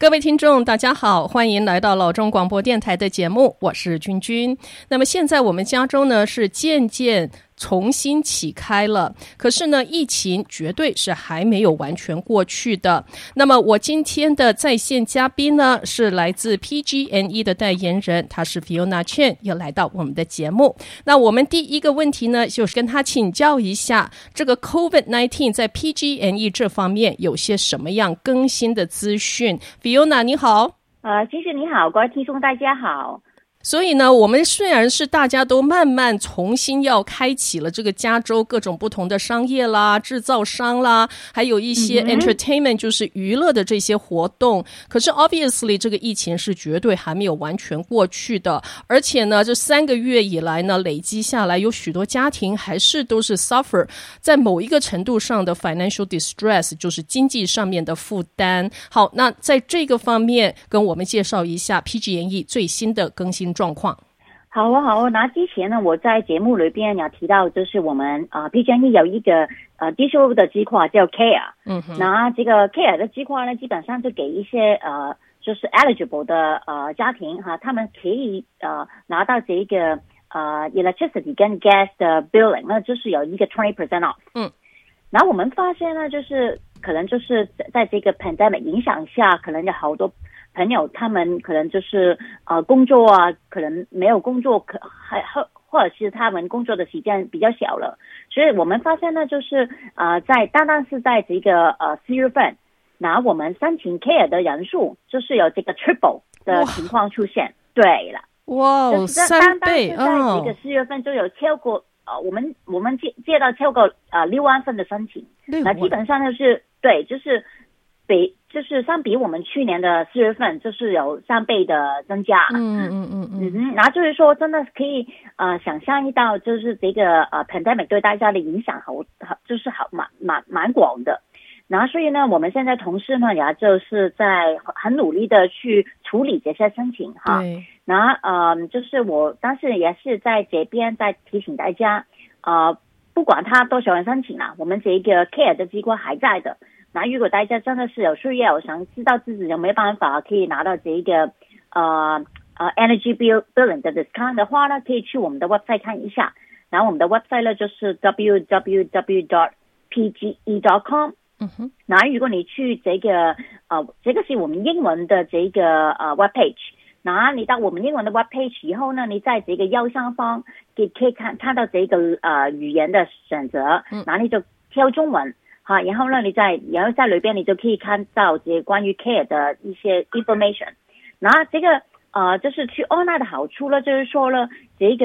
各位聽眾大家好，歡迎來到老中廣播電臺的節目，我是君君。那麼現在我們加州呢是漸漸重新啟開了，可是呢疫情絕對是還沒有完全過去的。那麼我今天的在線嘉賓呢是來自 PG&E 的代言人，他是 Fiona Chen， 又來到我們的節目。那我們第一個問題呢就是跟他請教一下，這個 COVID-19 在 PG&E 這方面有些什麼樣更新的資訊。 Fiona 你好。 其實你好，各位聽眾大家好。 所以呢，我們雖然是大家都慢慢重新要開啟了這個加州各種不同的商業啦、製造商啦，還有一些 entertainment 就是娛樂的這些活動，可是 obviously 這個疫情是絕對還沒有完全過去的，而且呢，這3個月以來呢，累積下來有許多家庭還是都是 suffer 在某一個程度上的 financial distress， 就是經濟上面的負擔。好，那在這個方面跟我們介紹一下 PG&E 最新的更新狀況。 好啊。那之前呢，我在節目裡邊有提到，就是我們PG&E 有一個digital 的計劃叫 CARE。那這個 CARE 的計劃呢，基本上就給一些就是 eligible 的家庭哈，他們可以拿到這個electricity 跟 gas 的 billing， 那就是有一個 20% off。然後我們發現呢，就是可能就是在這個 pandemic 影響下，可能有好多朋友他們可能就是工作啊，可能沒有工作，或者是他們工作的時間比較小了，所以我們發現呢，就是單單是在這個4月份，那我們申請 CARE 的人數就是有這個 triple 的情況出現。對了， 哇，就是3倍， 單單是在這個4月份就有超過我們接到超過6萬份的申請，那基本上就是对，就是相比我們去年的4月份，就是有3倍的增加。然後就是說，真的可以想象到，就是這個pandemic 對大家的影響就是蠻廣的。然後所以呢，我們現在同事呢也就是在很努力的去處理這些申請哈。然後就是我當時也是在這邊在提醒大家，不管他多少人申請啦，我們這個 CARE 的計劃還在的。那如果大家真的是有需要，想知道自己有沒有辦法可以拿到這個energy billing 的 discount 的話呢，可以去我們的 website 看一下。然後我們的 website 呢就是 www.pge.com。然後如果你去這個是我們英文的這個webpage， 然後你到我們英文的 webpage 以後呢，你在這個右上方可以看到這個語言的選擇，然後你就挑中文。好，然後呢，然後在裡邊你就可以看到這關於 CARE 的一些 information。然後這個就是去 online 的好處呢，就是說呢，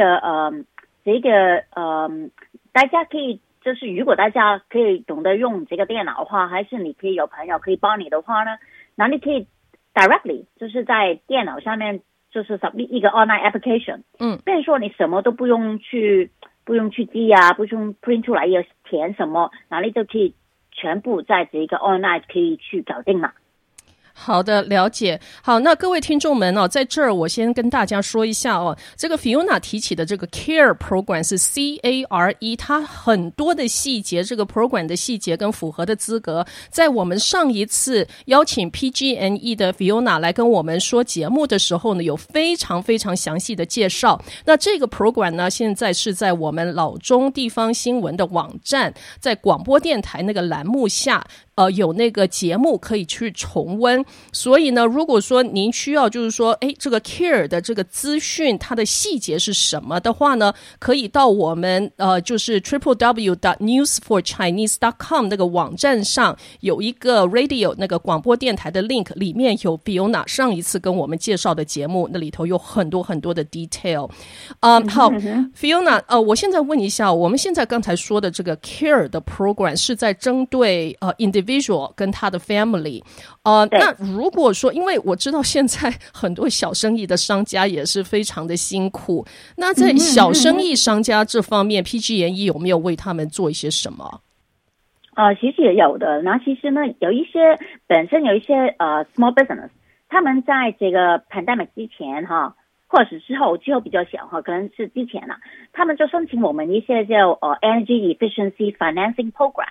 大家可以就是如果大家可以懂得用這個電腦的話，還是你可以有朋友可以幫你的話呢，那你可以 directly 就是在電腦上面就是 submit 一個 online application。變成說你什麼都不用去記啊，不用 print 出來要填什麼，然後你就可以全部在這個 online 可以去搞定了。 好的，了解。好，那各位聽眾們在這兒我先跟大家說一下這個 Fiona 提起的這個 CARE program 是 CARE， 它很多的細節，這個 program 的細節跟符合的資格，在我們上一次邀請 PG&E 的 Fiona 來跟我們說節目的時候呢，有非常非常詳細的介紹。那這個 program 呢，現在是在我們老中地方新聞的網站，在廣播電臺那個欄目下有那個節目可以去重溫。所以呢，如果說您需要就是說這個 CARE 的這個資訊它的細節是什麼的話呢，可以到我們就是 www.newsforchinese.com 那個網站上有一個 radio 那個廣播電台的 link， 裡面有 Fiona 上一次跟我們介紹的節目，那裡頭有很多很多的 detail。好Fiona， 我現在問一下，我們現在剛才說的這個 CARE 的 program 是在針對individual 跟他的 family。那如果說，因為我知道現在很多小生意的商家也是非常的辛苦，那在小生意商家這方面PG&E 有沒有為他們做一些什麼？ 其實也有的。那其實呢，本身有一些small business， 他們在這個 pandemic 之前或者是之後比較小可能是之前他們就申請我們一些叫energy efficiency financing program。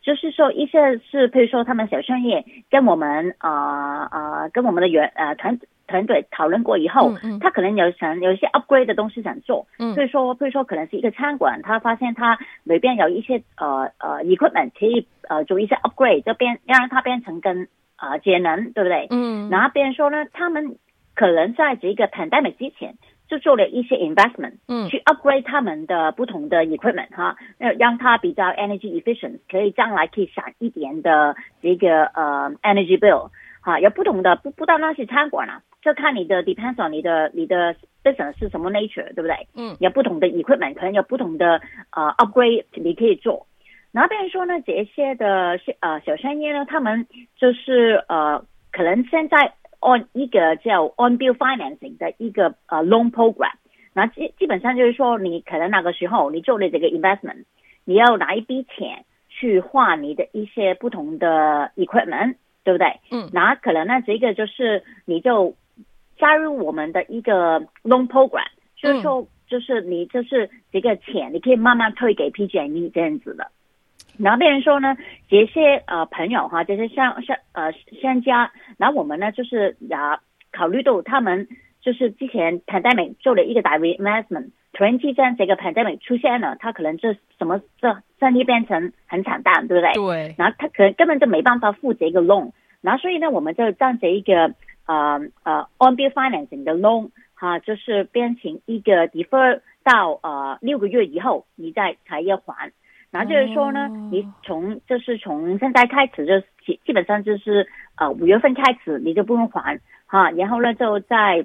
就是說一些是譬如說他們小商業跟我們跟我們的團隊討論過以後，他可能有一些 upgrade 的東西想做，所以說譬如說可能是一個餐館，他發現他裡邊有一些equipment 可以做一些 upgrade， 就讓它變成更節能，對不對？然後別人說呢，他們可能在這個 pandemic 之前就做了一些 investment，去 upgrade 他們的不同的 equipment 哈，讓它比較 energy efficient， 可以將來可以省一點的這個energy bill。哈，有不同的不到那些餐館啊，就看你的 depends on 你的 business 是什麼 nature， 對不对？有不同的 equipment， 可能有不同的upgrade 你可以做。然後別人說呢，這些的小商業呢，他們就是可能現在按一個叫 on bill financing 的一個loan program， 那基本上就是說，你可能那個時候你做了這個 investment， 你要拿一筆錢去換你的一些不同的 equipment。對不對？那可能呢，這個就是你就加入我們的一個 loan program， 就是說，就是你就是這個錢，你可以慢慢退給 PG&E 這樣子的。然後別人說呢，這些朋友哈，這些商家，然後我們呢就是也考慮到他們就是之前 pandemic 做了一個大 investment， 突然之間這個 pandemic 出現了，他可能這生意變成很慘淡，對不對？ 對。然後他可能根本就沒辦法付這個 loan， 然後所以呢，我們就將這一個on bill financing 的 loan 哈，就是變成一個 defer 到6個月以後，你才要還。然後就是說呢，你從現在開始就基本上就是5月份開始你就不用還哈，然後呢就在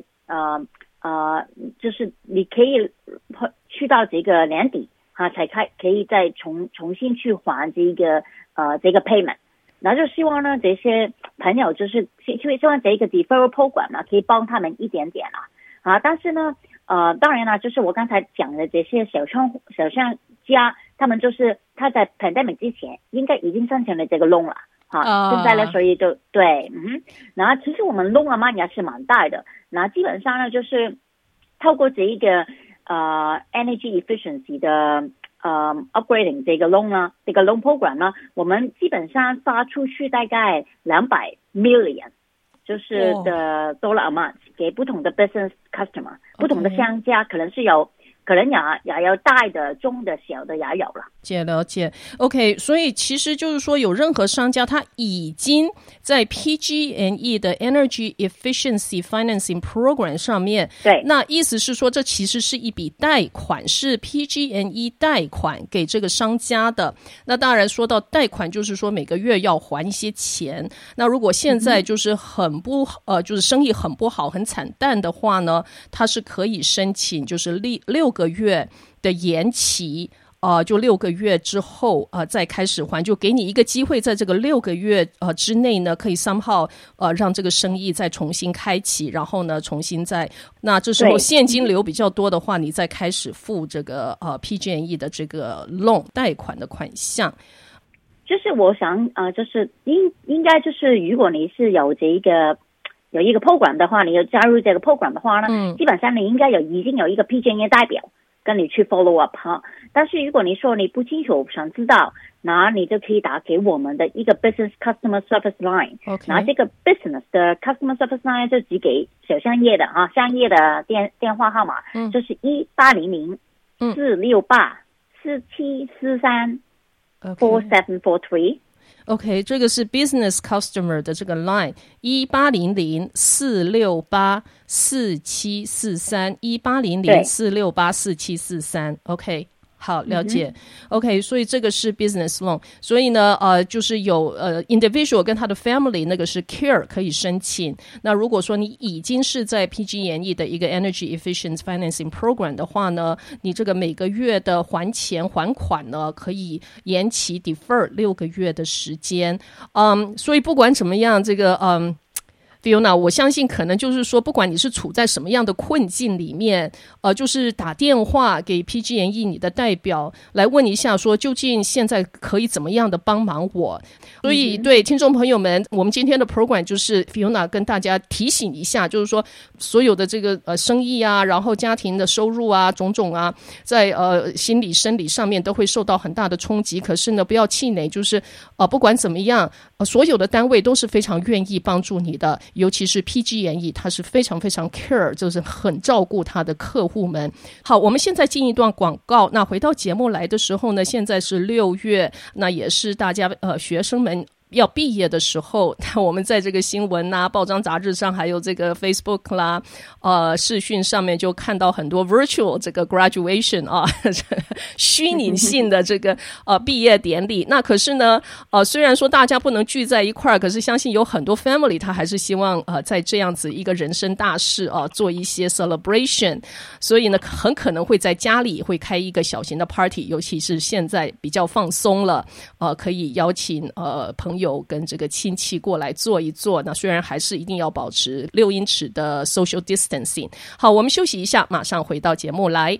就是你可以去到這個年底哈，才可以再重新去還這個 payment。然後就希望呢這些朋友就是希望這個 deferral program 呢可以幫他們一點點啊，但是呢當然啦，就是我剛才講的這些小商家，他們就是他在 pandemic 之前應該已經申請了這個 loan 了哈，現在呢所以就對然後其實我們 loan amount 也是蠻大的，那基本上呢就是透過這一個energy efficiency 的upgrading 這個 loan 呢，這個 loan program 呢，我們基本上發出去大概200 million 就是的 dollar amount 給不同的 business customer， 不同的商家可能是可能也有大的、中的、小的也有了。 了解 OK， 所以其實就是說有任何商家他已經在 PG&E 的 Energy Efficiency Financing Program 上面， 對， 那意思是說這其實是一筆貸款，是 PG&E 貸款給這個商家的。那當然說到貸款就是說每個月要還一些錢，那如果現在就是就是生意很不好很慘淡的話呢，他是可以申請就是6個月的延期，就6個月之後再開始還，就給你一個機會，在這個6個月之內呢，可以 somehow 讓這個生意再重新開啟，然後呢重新那這時候現金流比較多的話，你再開始付這個PG&E 的這個 loan 貸款的款項。 就是我想就是應該就是如果你是有一個 program 的話，你有加入這個 program 的話呢，基本上你應該已經有一個 PG&E 代表跟你去 follow up 哈。但是如果你說你不清楚想知道，那你就可以打給我們的一個 business customer service line， 那這個 business 的 customer service line 就只給小商業的商業的電話號碼，就是1800-468-4743 4743 OK， 這個是 business customer 的這個 line 1800-468-4743 1800-468-4743 OK。好，了解。OK， 所以這個是 business loan， 所以呢，就是有individual 跟他的 family 那個是 care 可以申請。那如果說你已經是在 PG&E 的一個 Energy Efficient Financing Program 的話呢，你這個每個月的還款呢，可以延期 defer 6個月的時間。所以不管怎麼樣，這個 Fiona， 我相信可能就是說，不管你是處在什麼樣的困境裡面，就是打電話給 PG&E 你的代表來問一下，說究竟現在可以怎麼樣的幫忙我。所以對聽眾朋友們，我們今天的 program 就是 Fiona 跟大家提醒一下，就是說所有的這個生意啊，然後家庭的收入啊，種種啊，在心理生理上面都會受到很大的衝擊。可是呢，不要氣餒，就是不管怎麼樣，所有的單位都是非常願意幫助你的，尤其是 PG&E， 他是非常非常 care， 就是很照顧他的客戶們。好，我們現在進一段廣告。那回到節目來的時候呢，現在是6月，那也是大家學生們要畢業的時候，我們在這個新聞啊、報章雜誌上，還有這個 Facebook 啦、視訊上面就看到很多 virtual 這個 graduation 啊，虛擬性的這個畢業典禮。那可是呢，雖然說大家不能聚在一塊兒，可是相信有很多 family 他還是希望在這樣子一個人生大事做一些 celebration， 所以呢，很可能會在家裡會開一個小型的 party， 尤其是現在比較放鬆了，可以邀請朋友跟這個親戚過來坐一坐，那雖然還是一定要保持6英尺的 social distancing。好，我們休息一下，馬上回到節目來。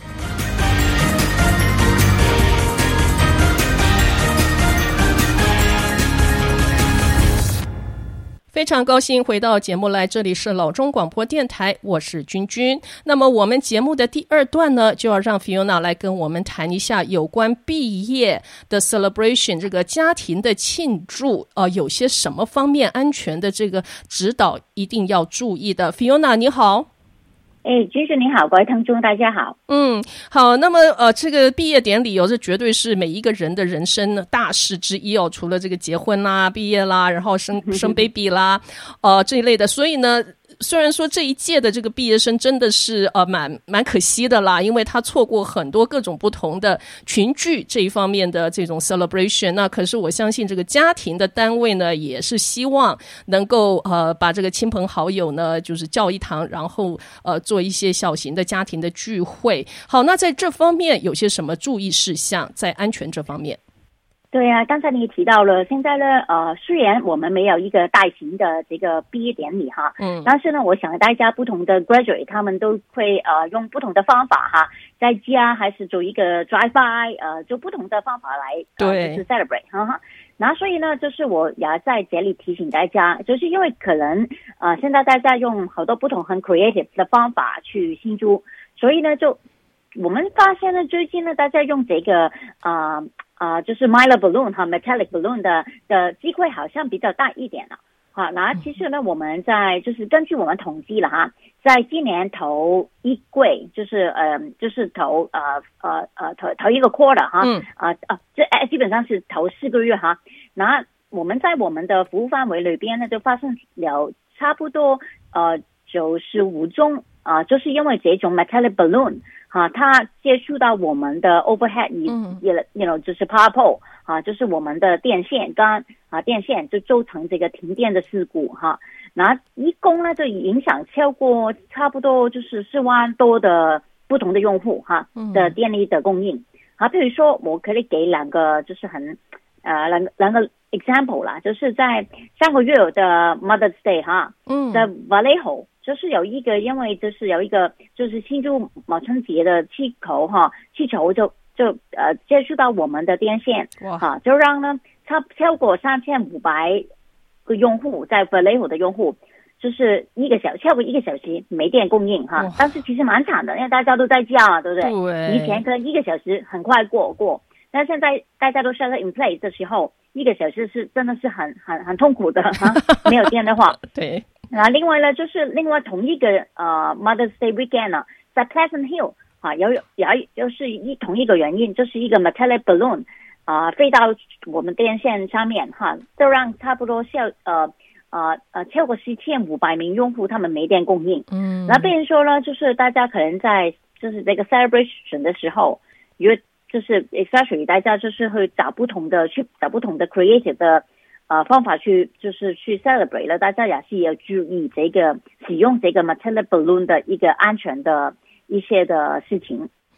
非常高興回到節目來，這裡是老中廣播電台，我是君君。那麼我們節目的第二段呢，就要讓 Fiona 來跟我們談一下有關畢業的 celebration， 這個家庭的慶祝，有些什麼方面安全的這個指導一定要注意的。Fiona 你好。 君君你好，各位聽眾大家好。 好，那麼這個畢業典禮這絕對是每一個人的人生呢大事之一除了這個結婚啦、畢業啦，然後生 baby 啦，這一類的，所以呢。雖然說這一屆的這個畢業生真的是蠻可惜的啦，因為他錯過很多各種不同的群聚這一方面的這種 celebration。那可是我相信這個家庭的單位呢，也是希望能夠把這個親朋好友呢，就是叫一堂，然後做一些小型的家庭的聚會。好，那在這方面有些什麼注意事項在安全這方面？ 對啊，剛才你提到了，現在呢，雖然我們沒有一個大型的這個畢業典禮哈，但是呢，我想大家不同的 graduate 他們都會用不同的方法哈，在家還是做一個 drive by， 就不同的方法來就是 celebrate 哈。然後所以呢，就是我也在這裡提醒大家，就是因為可能現在大家用好多不同很 creative 的方法去慶祝，所以呢，就我們發現呢，最近呢，大家用這個就是 Mylar balloon 和 metallic balloon 的機會好像比較大一點了。好，那其實呢，我們就是根據我們統計了哈，在今年頭一季，就是頭一個 quarter 哈，這基本上是頭4個月哈。那我們在我們的服務範圍裡邊呢，就發生了差不多95宗就是因為這種 metallic balloon。它接觸到我們的 overhead， 就是 power pole， 就是我們的電線桿，電線就造成這個停電的事故哈。那一共呢就影響超過差不多就是4萬多的不同的用戶哈的電力的供應。譬如說我可以給兩個就是兩個 example 啦，就是在上個月的 Mother's Day 哈，在 Vallejo。就是有一個，因為就是有一個就是慶祝母親節的氣球就接觸到我們的電線，就讓呢超過3500個用戶在 Vallejo 的用戶，就是超過1個小時沒電供應哈。但是其實蠻慘的，因為大家都在家對不對？對。以前可能1個小時很快過，但現在大家都 shelter in place 的時候，1個小時是真的是很痛苦的哈，沒有電的話。對。那另外呢，就是另外同一個Mother's Day weekend 呢，在 Pleasant Hill 就是同一個原因，就是一個 metallic balloon 飛到我們電線上面哈，就讓差不多超過4500名用戶他們沒電供應。那變成說呢，就是大家可能在就是這個 celebration 的時候，因為就是 especially 大家就是會找不同的 creative 的。方法去 celebrate 了，大家也是要注意這個使用這個 metallic balloon 的一個安全的一些的事情。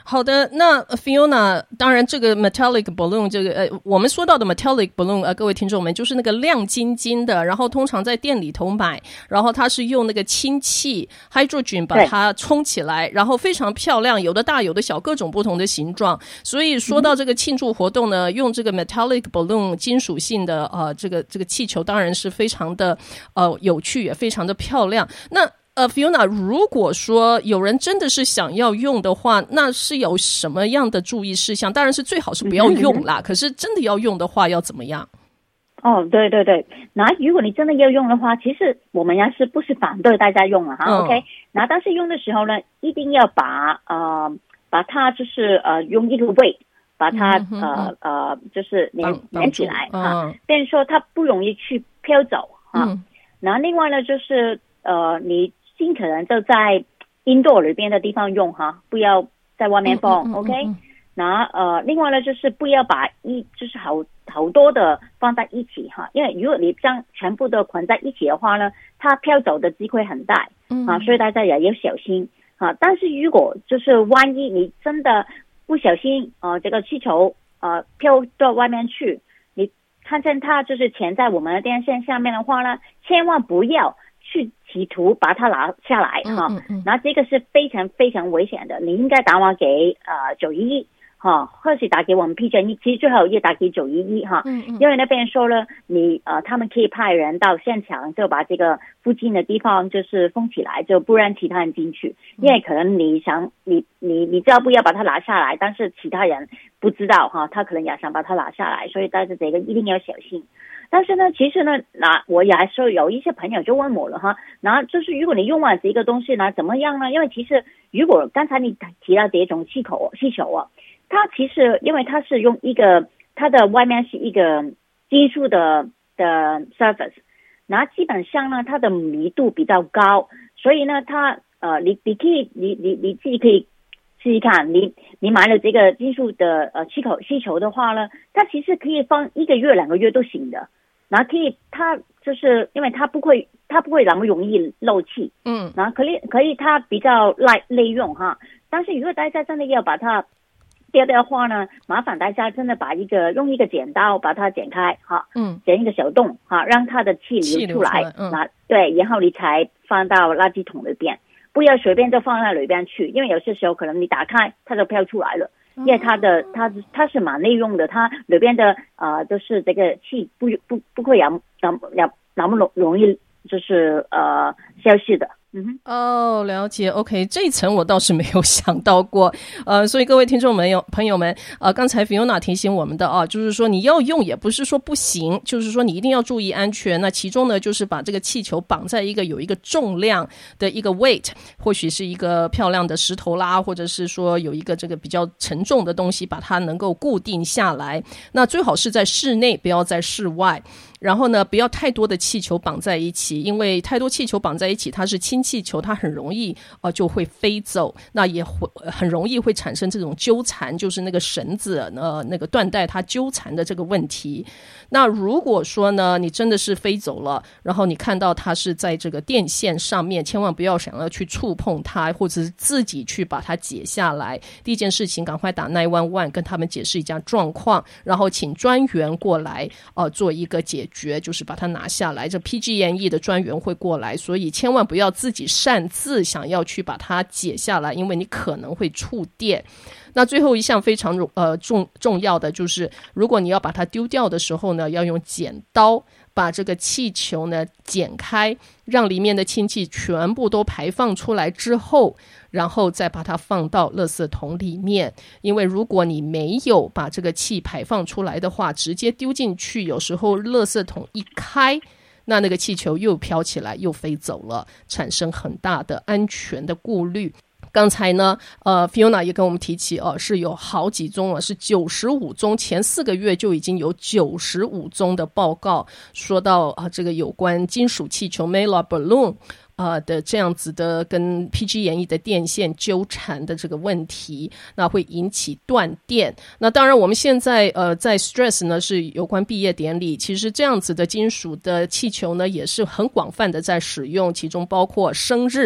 好的，那 Fiona， 當然這個 metallic balloon 這個我們說到的 metallic balloon 各位聽眾們就是那個亮晶晶的，然後通常在店裡頭買，然後它是用那個氢氣 hydrogen 把它充起來，然後非常漂亮，有的大有的小，各種不同的形狀。所以說到這個慶祝活動呢，用這個 metallic balloon 金屬性的這個氣球當然是非常的有趣，也非常的漂亮。那Fiona， 如果說有人真的是想要用的話，那是有什麼樣的注意事項？当然是最好是不要用啦，可是真的要用的話要怎麼樣？ 对对对，那如果你真的要用的話，其實我們也是不是反對大家用了哈，OK？ 那但是用的時候呢，一定要把它就是用一個 weight 把它就是粘起來哈，變成說它不容易去飄走哈。然後另外呢就是你盡可能就在 indoor 裡邊的地方用哈，不要在外面放 ，OK？ 那另外呢就是不要把就是好多的放在一起哈，因為如果你將全部都捆在一起的話呢，它飄走的機會很大啊，所以大家也要小心啊。但是如果就是萬一你真的不小心這個氣球飄到外面去，你看見它就是潛在我們的電線下面的話呢，千萬不要去企圖把它拿下來哈，那這個是非常非常危險的。你應該打電話給911哈，或是打給我們 PG&E， 其實最好也打給911哈，因為那邊說了他們可以派人到現場，就把這個附近的地方就是封起來，就不讓其他人進去。因為可能你知道不要把它拿下來，但是其他人不知道哈，他可能也想把它拿下來，所以大家這個一定要小心。但是呢，其實呢，那我也說有一些朋友就問我了哈，那就是如果你用完這個東西呢，怎麼樣呢？因為其實如果剛才你提到這種氣球它其實因為它是用一個它的外面是一個金屬的 surface， 那基本上呢它的密度比較高，所以呢它你可以你自己可以試試看，你買了這個金屬的氣球的話呢，它其實可以放1個月2個月都行的。然後它就是因為它不會那麼容易漏氣，然後可以它比較耐用哈。但是如果大家真的要把它掉的話呢，麻煩大家真的用一個剪刀把它剪開哈，剪一個小洞哈，讓它的氣流出來，對，然後你才放到垃圾桶裡邊，不要隨便就放在裡邊去，因為有些時候可能你打開它就飄出來了。因為它是蠻內用的，它裡邊的就是這個氣不會那麼容易就是消失的。 了解 OK， 這一層我倒是沒有想到過，所以各位聽眾朋友們，剛才 Fiona 提醒我們的就是說你要用也不是說不行，就是說你一定要注意安全。那其中呢，就是把這個氣球綁在有一個重量的一個 weight， 或許是一個漂亮的石頭啦，或者是說有一個這個比較沉重的東西把它能夠固定下來。那最好是在室內，不要在室外。然後呢，不要太多的氣球綁在一起，因為太多气球綁在一起，它是氢氣球，它很容易就會飛走，那也很容易會產生這種糾纏，就是那個繩子那個緞帶它糾纏的這個問題。那如果說呢，你真的是飛走了，然後你看到它是在這個電線上面，千萬不要想要去觸碰它，或者是自己去把它解下來。第一件事情，趕快打911跟他們解釋一下狀況，然後請專員過來做一個解決，就是把它拿下來。這 PG&E 的專員會過來，所以千萬不要自己擅自想要去把它解下來，因為你可能會觸電。那最後一項非常重要的就是，如果你要把它丟掉的時候呢，要用剪刀把這個氣球呢剪開，讓裡面的氢氣全部都排放出來之後，然後再把它放到垃圾桶裡面。因為如果你沒有把這個氣排放出來的話，直接丟進去，有時候垃圾桶一開，那個氣球又飄起來又飛走了，產生很大的安全的顧慮。剛才呢Fiona 也跟我們提起是有好幾宗是95宗，前4個月就已經有95宗的報告說到這個有關金屬氣球 Mylar balloon的這樣子的跟 PG&E 的電線糾纏的這個問題，那會引起斷電。那當然我們現在在 stress 呢是有關畢業典禮，其實這樣子的金屬的氣球呢也是很廣泛的在使用，其中包括生日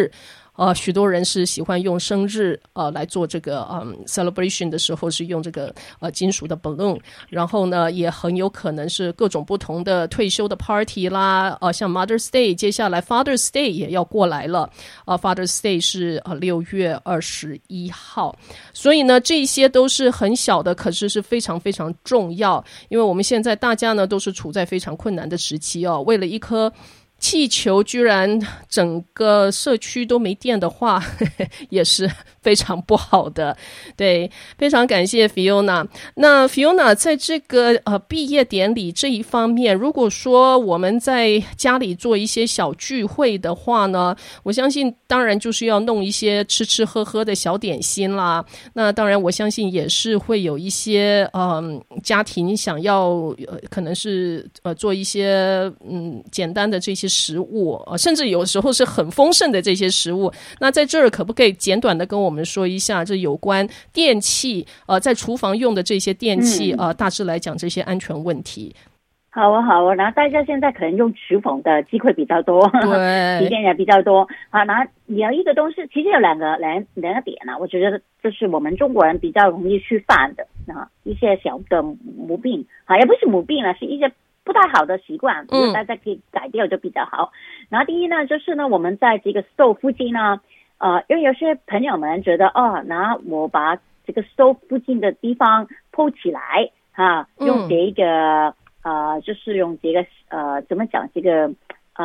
許多人是喜歡用生日來做這個celebration 的時候是用這個金屬的 balloon， 然後呢也很有可能是各種不同的退休的 party 啦，像 Mother's Day， 接下來 Father's Day 也要過來了，Father's Day 是6月21號，所以呢這些都是很小的，可是非常非常重要，因為我們現在大家呢都是處在非常困難的時期哦，為了一顆氣球居然整個社區都沒電的話，也是非常不好的。對，非常感謝 Fiona。那 Fiona 在這個畢業典禮這一方面，如果說我們在家裡做一些小聚會的話呢，我相信當然就是要弄一些吃吃喝喝的小點心啦。那當然我相信也是會有一些家庭想要可能是做一些簡單的這些食物，甚至有時候是很豐盛的這些食物。那在這兒可不可以簡短的跟我們說一下，這有關電器在廚房用的這些電器大致來講這些安全問題？ 好啊，然後大家現在可能用廚房的機會比較多，對，體驗也比較多。好，然後有一個東西，其實有兩個點呢，我覺得這是我們中國人比較容易去犯的一些小的毛病，也不是毛病了，是一些不太好的習慣，大家可以改掉就比較好。然後第一呢，就是呢，我們在這個 stove 附近呢，因為有些朋友們覺得然後我把這個 stove 附近的地方鋪起來用這個就是用這個怎麼講這個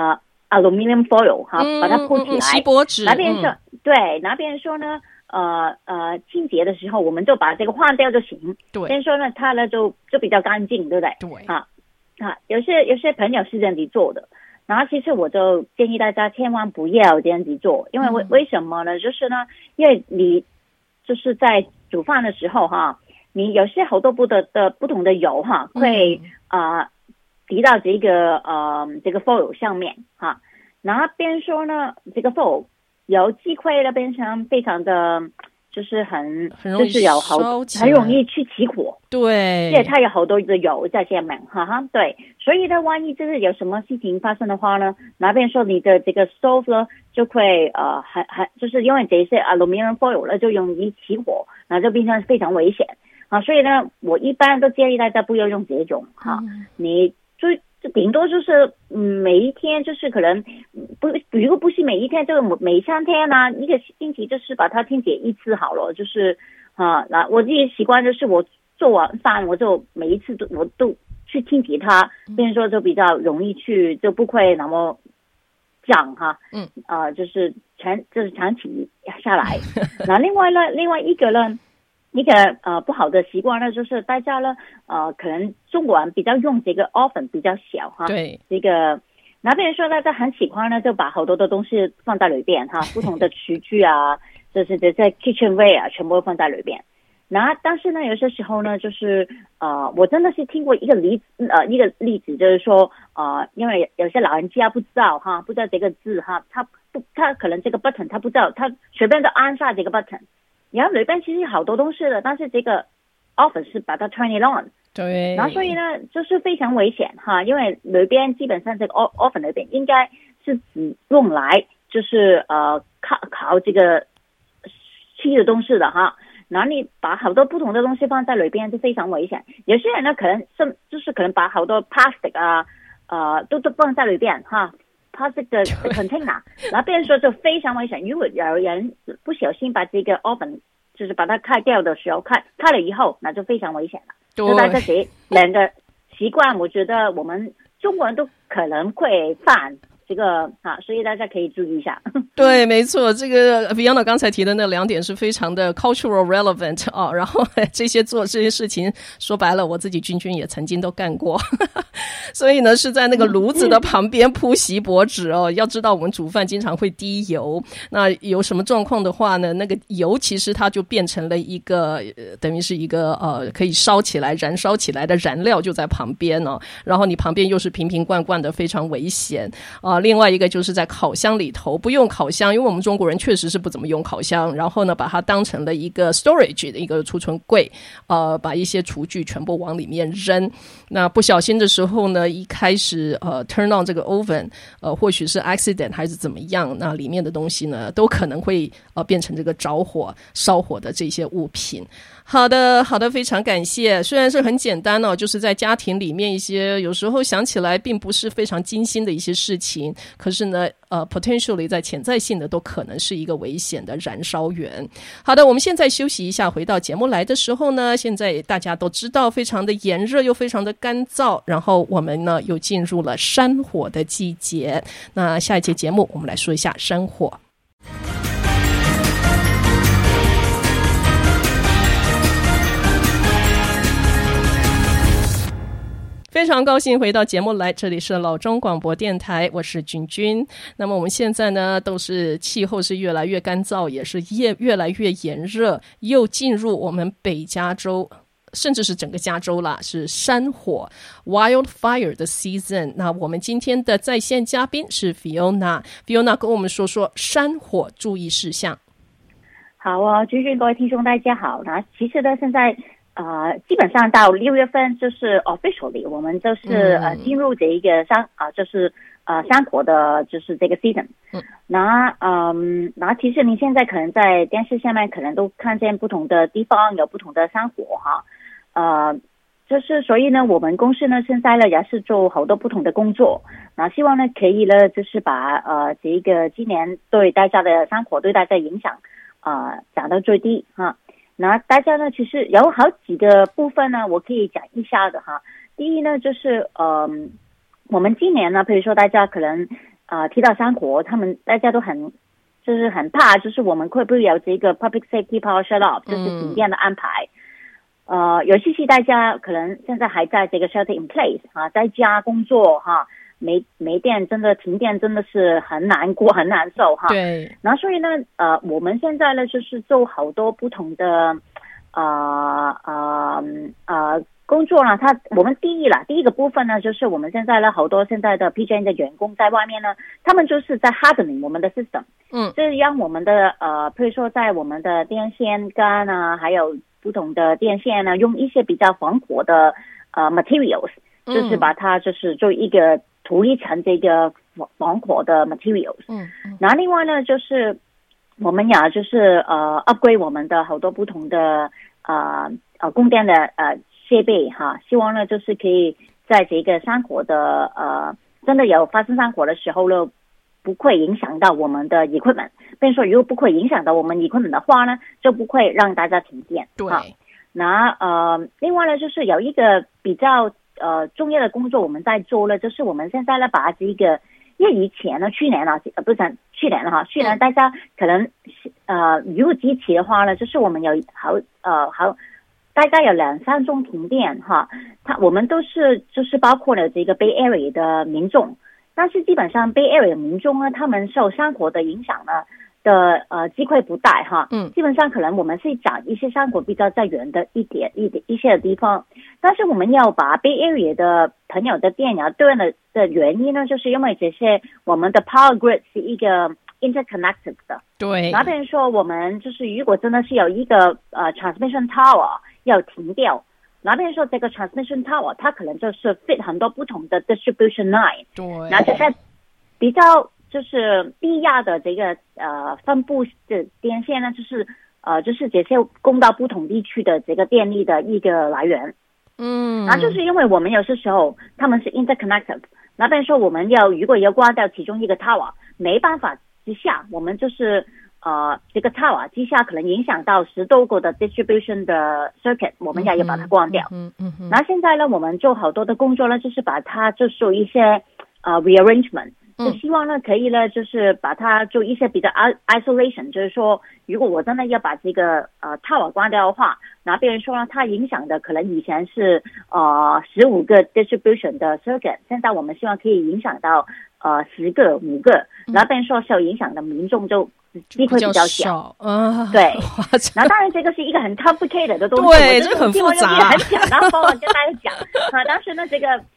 aluminium foil 把它鋪起來， 錫箔紙。那邊說對，那邊說呢清潔的時候我們就把這個換掉就行。對，先說呢，它呢就比較乾淨，對不對？對。有些朋友是這樣子做的，然後其實我就建議大家千萬不要這樣子做，因為為什麼呢？就是呢，因為你就是在煮飯的時候你有些好多不同的油會滴到這個 foil 上面然後邊說呢，這個 foil 有機會呢變成非常的就是很容易就是很容易去起火，對，因為它有好多的油在下面对，所以呢，萬一就是有什麼事情發生的話呢，那邊說你的這個 stove 呢就會就是因為這些 aluminum foil 呢就容易起火，然後就變成非常危險所以呢，我一般都建議大家不要用這種你就頂多就是每一天就是可能如果不是每一天，就每3天一個星期就是把它清潔一次好了，就是那我自己習慣就是我做完飯我就每一次我都去清潔它，變成說就比較容易去就不會那麼髒就是長期下來那另外一個呢，一個不好的習慣呢，就是大家呢可能中國人比較用這個 oven 比較小對，這個那邊說大家很喜歡呢，就把好多的東西放在裡邊不同的廚具就是這些 kitchenware 全部放在裡邊。然後但是呢，有些時候呢，就是我真的是聽過一個例子，就是說因為有些老人家不知道不知道這個字他可能這個 button 他不知道，他隨便就按下這個 button。然後裡邊其實有好多東西的，但是這個 oven 是把它 turn it on， 對，然後所以呢就是非常危險因為裡邊基本上這個 oven 裡邊應該是只用來就是烤這個吃的東西的然後你把好多不同的東西放在裡邊就非常危險。有些人呢可能就是可能把好多 plastic 都放在裡邊plastic 的 container， 然後別人說就非常危險。如果有人不小心把這個 oven 就是把它開掉的時候開了以後，那就非常危險了。就大家這兩個習慣，我覺得我們中國人都可能會犯這個所以大家可以注意一下。 對，沒錯，這個 Fiona 剛才提的那2點是非常的 cultural relevant 然後做這些事情，說白了，我自己君也曾經都幹過，所以呢是在那個爐子的旁邊鋪錫箔紙要知道我們煮飯經常會滴油，那有什麼狀況的話呢，那個油其實它就變成了一個等於是一個可以燒起來燃燒起來的燃料就在旁邊然後你旁邊又是瓶瓶罐罐的，非常危險另外一個就是在烤箱裡頭不用烤箱，因為我們中國人確實是不怎麼用烤箱，然後呢把它當成了一個 storage 的一個儲存櫃，把一些廚具全部往裡面扔。那不小心的時候呢，一開始turn on 這個 oven， 或許是 accident 還是怎麼樣，那裡面的東西呢都可能會變成這個着火燒火的這些物品。好的，非常感謝。雖然是很簡單哦，就是在家庭裡面一些有時候想起來並不是非常精心的一些事情，可是呢potentially 在潛在性的都可能是一個危險的燃燒源。好的，我們現在休息一下，回到節目來的時候呢，現在大家都知道非常的炎熱又非常的乾燥，然後我們呢又進入了山火的季節。那下一節節目我们来說一下山火。非常高興回到節目來，這裡是老中廣播電臺，我是君君。那麼我們現在呢，都是氣候是越來越乾燥，也是越來越炎熱，又進入我們北加州，甚至是整個加州啦，是山火 wildfire 的 season。那我們今天的在線嘉賓是 Fiona 跟我們說說山火注意事項。 好啊，君君，各位聽眾大家好。那其實呢，現在基本上到6月份就是 officially 我們就是進入這一個就是山火的就是這個 season。那其實你現在可能在電視下面可能都看見不同的地方有不同的山火哈。就是所以呢，我們公司呢現在呢也是做好多不同的工作，那希望呢可以呢就是把這個今年對大家的山火對大家影響降到最低哈。那大家呢其實有好幾個部分呢我可以講一下的哈。第一呢就是我們今年呢比如說大家可能提到山火，大家都很怕，就是我們會不會有這個 public safety power shut off， 就是停電的安排。尤其是大家可能現在還在這個 shelter in place 在家工作哈，沒電，真的停電真的是很難過很難受哈。 對。 然後所以呢我們現在呢就是做好多不同的工作呢，我們第一個部分呢就是我們現在呢好多現在的 PG&E 的員工在外面呢，他們就是在 hardening 我們的 system， 就是讓我們的譬如說在我們的電線桿啊，還有不同的電線呢，用一些比較防火的materials，就是把它就是做一個塗一層這個防火的 materials。然後另外呢就是我們也就是 upgrade 我們的好多不同的供電的設備哈，希望呢就是可以在這個山火的真的有發生山火的時候呢，不會影響到我們的 equipment。比如說如果不會影響到我們 equipment 的話呢，就不會讓大家停電。 對。 那另外呢就是有一個比較重要的工作我們在做了，就是我們現在呢把這個，因為以前呢去年了大家可能如果機器的話呢，就是我們有大概有2-3宗停電哈，我們都是就是包括了這個 Bay Area 的民眾，但是基本上 Bay Area 的民眾呢，他們受山火的影響呢的機會不大哈。基本上可能我們是講一些山火比較在遠的一些的地方，但是我們要把 Bay Area 的朋友的電要斷了的原因呢，就是因為這些我們的 power grid 是一個 interconnected 的。對。那比如說我們就是如果真的是有一個transmission tower 要停掉，那比如說這個 transmission tower 它可能就是 fit 很多不同的 distribution line。對。然後就在比較就是低壓的這個分布的電線呢，就是這些供到不同地區的這個電力的一個來源。然後就是因為我們有些時候他們是 interconnected， 那比如說我們如果要關掉其中一個 tower， 沒辦法之下，我們就是這個 tower 之下可能影響到10多個的 distribution 的 circuit， 我們也要把它關掉。那現在呢，我們做好多的工作呢，就是把它就做一些rearrangement。就希望呢可以呢就是把它做一些比較 isolation， 就是說如果我真的要把這個tower 關掉的話，那別人說呢它影響的可能以前是15個 distribution 的 circuit， 現在我們希望可以影響到5個，然後別人說受影響的民眾就機會比較小。對。那當然這個是一個很 complicated 的東西，對，這個很複雜，很簡單幫我跟大家講。當時呢這個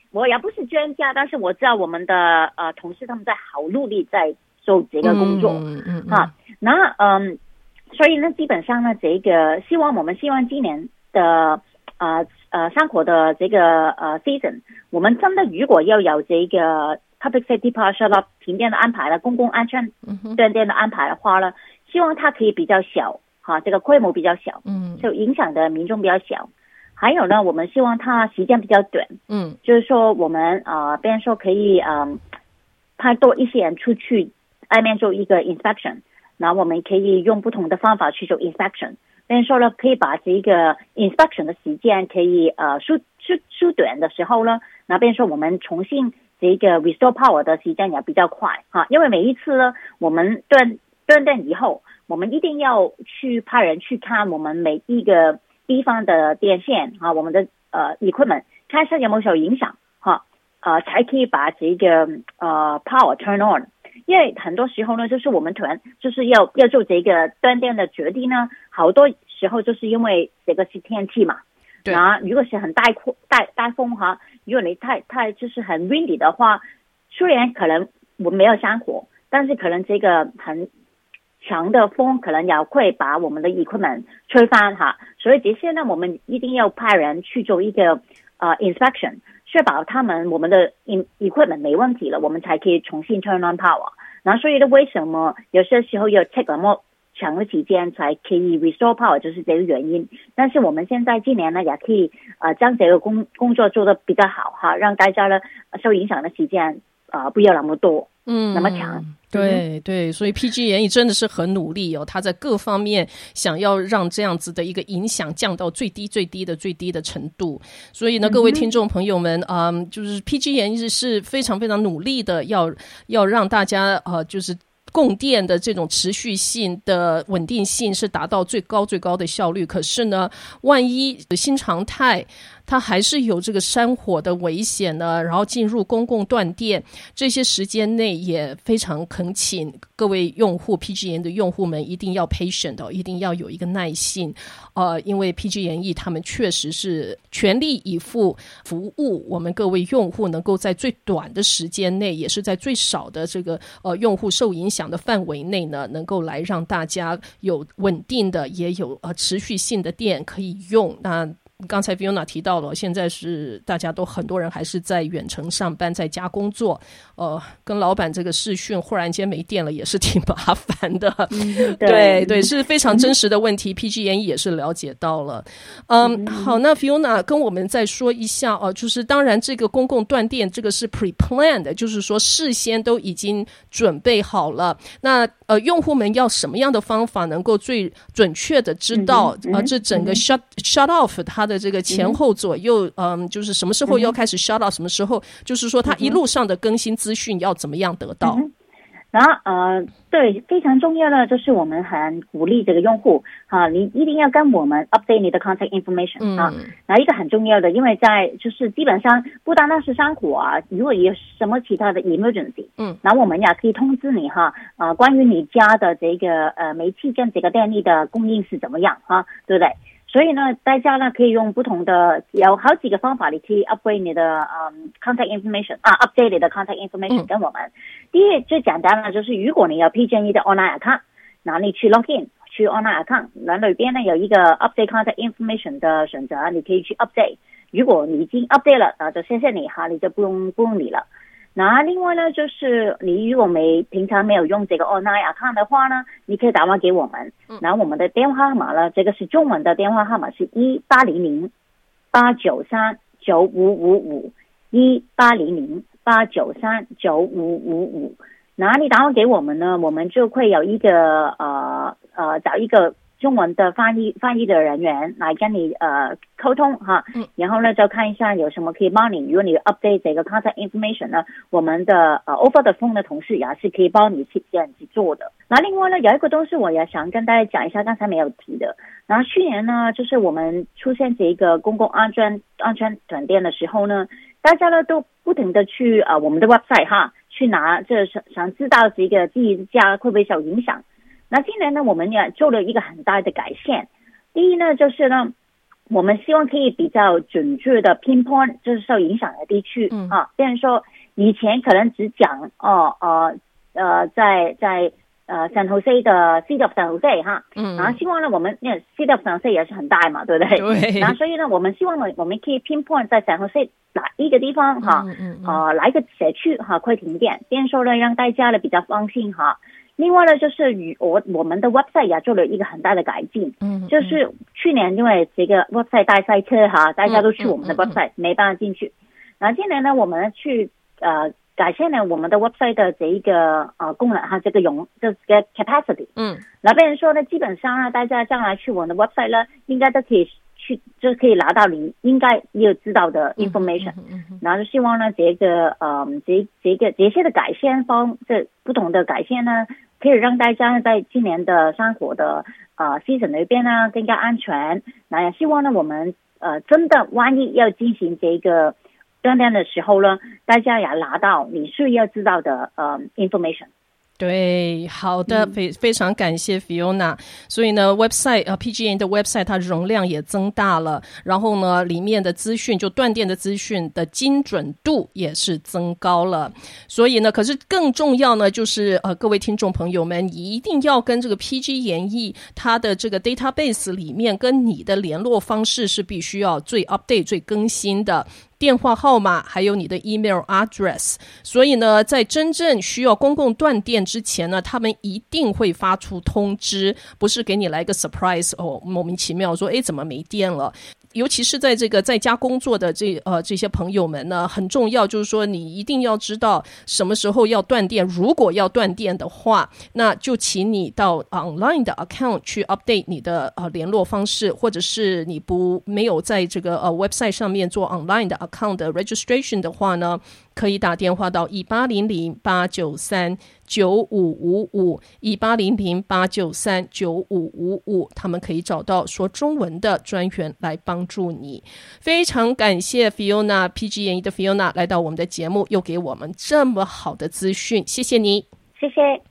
我也不是專家，但是我知道我們的同事他們在好努力在做這個工作，那所以呢，基本上呢，這個我們希望今年的山火的這個season， 我們真的如果要有這個 public safety power shutoff 停電的安排了，公共安全斷電的安排的話呢，希望它可以比較小，這個規模比較小，就影響的民眾比較小。還有呢，我們希望它時間比較短，就是說我們比如說可以派多一些人出去外面做一個 inspection， 然後我們可以用不同的方法去做 inspection， 比如說呢，可以把這個 inspection 的時間可以縮短的時候呢，那比如說我們重新這個 restore power 的時間也比較快，因為每一次呢，我們斷電以後，我們一定要去派人去看我們每一個地方的電線我們的equipment 看一下有沒有受影響才可以把這個power turn on。因為很多時候呢，就是我們突然就是要做這個斷電的決定呢，好多時候就是因為這個是天氣嘛。對啊，如果是很大風如果你太就是很 windy 的話，雖然可能我們沒有山火，但是可能這個很強的風可能也會把我們的 equipment 吹翻所以這些呢，我們一定要派人去做一個inspection， 確保我們的 equipment 沒問題了，我們才可以重新 turn on power。然後所以呢，為什麼有些時候要 take 那麼長的時間才可以 restore power， 就是這個原因。但是我們現在今年呢，也可以將這個工作做得比較好讓大家呢受影響的時間不要那麼多，那麼長。 對，所以 PG&E 真的是很努力他在各方面想要讓這樣子的一個影響降到最低的程度。所以呢，各位听众朋友們，就是 PG&E 是非常非常努力的，要讓大家就是供電的這種持續性的穩定性是達到最高的效率。可是呢，萬一新常態它還是有這個山火的危險呢，然後進入公共斷電，這些時間內也非常懇請各位用戶 PG&E 的用戶們一定要 patient 一定要有一個耐性，因為 PG&E 他們確實是全力以赴服務我們各位用戶，能夠在最短的時間內，也是在最少的這個用戶受影響的範圍內呢，能夠來讓大家有穩定的也有持續性的電可以用。那剛才 Fiona 提到了，現在是大家都很多人還是在遠程上班，在家工作，跟老闆這個視訊忽然間沒電了也是挺麻煩的。對，是非常真實的問題PG&E 也是了解到了。好，那 Fiona 跟我們再說一下就是當然這個公共斷電這個是 pre-planned， 就是說事先都已經準備好了。那用戶們要什麼樣的方法能夠最準確的知道這整個 shut off 它的這個前後左右就是什麼時候要開始 shut off， 什麼時候就是說它一路上的更新資訊要怎麼樣得到。 然後對，非常重要的就是我們很鼓勵這個用戶你一定要跟我們 update 你的 contact information 然後一個很重要的，因為在就是基本上不單單是山火如果有什麼其他的 emergency 然後我們也可以通知你關於你家的這個煤氣跟這個電力的供應是怎麼樣對不對？所以呢，大家呢可以用不同的，有好幾個方法，你可以 upgrade 你的contact information update 你的 contact information 跟我們。第一最簡單的就是如果你有 PG&E 的 online account， 然後你去 login 去 online account， 那裡邊呢有一個 update contact information 的選擇，你可以去 update。如果你已經 update 了就謝謝你你就不用理了。那另外呢，就是你如果平常沒有用這個 online account 的話呢，你可以打電話給我們。然後我們的電話號碼呢，這個是中文的電話號碼是1800-893-9555 1800-893-9555。然後你打電話給我們呢，我們就會有一個找一個中文的翻譯的人員來跟你溝通然後呢就看一下有什麼可以幫你。如果你 update 這個 contact information 呢，我們的over the phone 的同事也是可以幫你去這樣子做的。那另外呢，有一個東西我也想跟大家講一下，剛才沒有提的。然後去年呢，就是我們出現這個公共安全斷電的時候呢，大家呢都不停的去我們的 website 去拿，這想知道這個自己家會不會受影響。那今年呢，我們也做了一個很大的改善。第一呢，就是呢， 我們希望可以比較準確的 pinpoint 就是受影響的地區比如說以前可能只講在San Jose 的 City of San Jose 然後希望呢我們City of San Jose 也是很大嘛，對不對？ 對。 然後所以呢我們希望呢我們可以 pinpoint 在 San Jose 哪一個地方哪一個社區可以停電，變說呢讓大家呢比較放心另外呢就是我們的 website 也做了一個很大的改進就是去年因為這個 website 大塞車大家都去我們的 website 沒辦法進去，然後今年呢我們去改善了我們的 website 的這一個功能這個capacity 那變成說呢基本上呢大家將來去我們的 website 呢應該都可以去就可以拿到你應該要知道的 information 然後就希望呢這些的改善這不同的改善呢可以讓大家在今年的生活的season 裏邊呢更加安全，那也希望呢我們真的萬一要進行這個斷電的時候呢大家也拿到你需要知道的information。 对，好的，非常感謝 Fiona。所以呢 website PG&E 的 website 它容量也增大了，然後呢裡面的資訊就斷電的資訊的精準度也是增高了。所以呢可是更重要呢就是各位聽眾朋友們一定要跟這個 PG&E 它的這個 database 裡面跟你的聯絡方式是必須要最 update 最更新的，電話號碼還有你的 email address。 所以呢在真正需要公共斷電之前呢他們一定會發出通知，不是給你來個 surprise 莫名其妙說怎麼沒電了。尤其是在這個在家工作的這些朋友們呢，很重要就是說你一定要知道什麼時候要斷電，如果要斷電的話那就請你到 online 的 account 去 update 你的聯絡方式，或者是你沒有在這個website 上面做 online 的 account 的 registration 的話呢，可以打電話到1800-893-9555 1800-893-9555，他們可以找到說中文的專員來幫助你。非常感謝 Fiona PG&E 的 Fiona 來到我們的節目，又給我們這麼好的資訊，謝謝你。 謝謝。